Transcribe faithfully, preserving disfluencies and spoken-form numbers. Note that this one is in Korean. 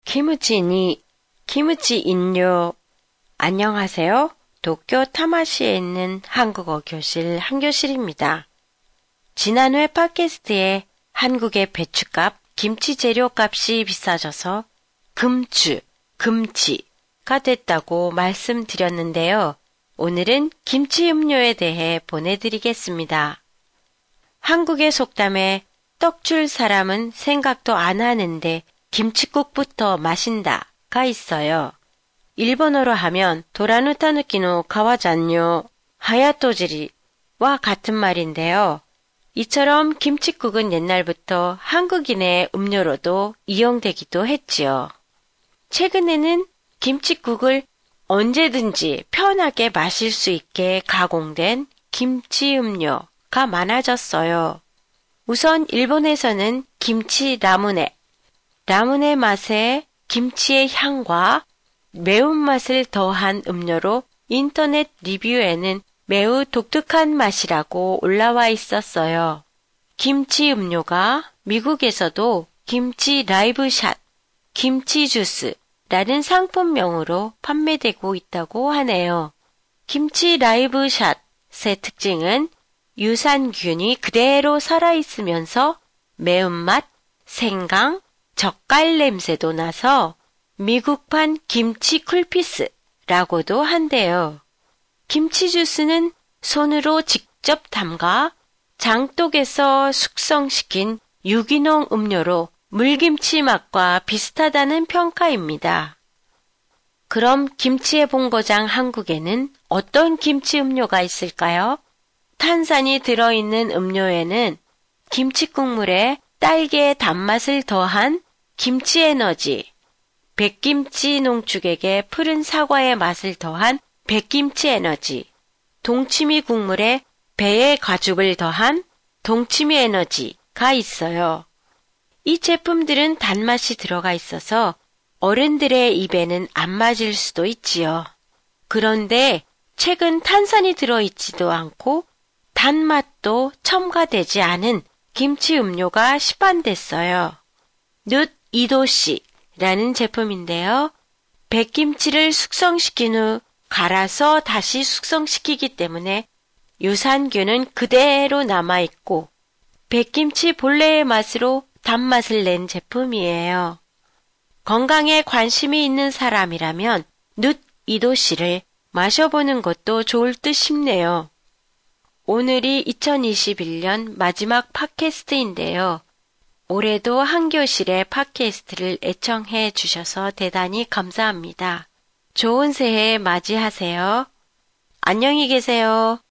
키무치니, 키무치 인료. 안녕하세요. 도쿄 타마시에 있는 한국어 교실 한교실입니다. 지난 회 팟캐스트에 한국의 배추값, 김치 재료값이 비싸져서 금추, 금치가 됐다고 말씀드렸는데요. 오늘은 김치 음료에 대해 보내드리겠습니다. 한국의 속담에 떡 줄 사람은 생각도 안 하는데 김칫국부터 마신다가 있어요. 일본어로 하면 도라누타누키노 가와잔요 하야토지리와 같은 말인데요. 이처럼 김칫국은 옛날부터 한국인의 음료로도 이용되기도 했지요. 최근에는 김칫국을 언제든지 편하게 마실 수 있게 가공된 김치 음료가 많아졌어요. 우선 일본에서는 김치 라무네, 라무네 맛에 김치의 향과 매운맛을 더한 음료로 인터넷 리뷰에는 매우 독특한 맛이라고 올라와 있었어요. 김치 음료가 미국에서도 김치 라이브샷, 김치 주스라는 상품명으로 판매되고 있다고 하네요. 김치 라이브샷의 특징은 유산균이 그대로 살아있으면서 매운맛, 생강, 젓갈 냄새도 나서 미국판 김치 쿨피스라고도 한대요. 김치 주스는 손으로 직접 담가 장독에서 숙성시킨 유기농 음료로 물김치 맛과 비슷하다는 평가입니다. 그럼 김치의 본고장 한국에는 어떤 김치 음료가 있을까요? 탄산이 들어있는 음료에는 김치 국물에 딸기의 단맛을 더한 김치 에너지, 백김치 농축액에 푸른 사과의 맛을 더한 백김치 에너지, 동치미 국물에 배의 가죽을 더한 동치미 에너지가 있어요. 이 제품들은 단맛이 들어가 있어서 어른들의 입에는 안 맞을 수도 있지요. 그런데 최근 탄산이 들어있지도 않고 단맛도 첨가되지 않은 김치 음료가 시판됐어요. 눕 이도시라는 제품인데요. 백김치를 숙성시킨 후 갈아서 다시 숙성시키기 때문에 유산균은 그대로 남아있고 백김치 본래의 맛으로 단맛을 낸 제품이에요. 건강에 관심이 있는 사람이라면 눕 이도시를 마셔보는 것도 좋을 듯 싶네요. 오늘이 이천이십일 년 마지막 팟캐스트인데요. 올해도 한교실의 팟캐스트를 애청해 주셔서 대단히 감사합니다. 좋은 새해 맞이하세요. 안녕히 계세요.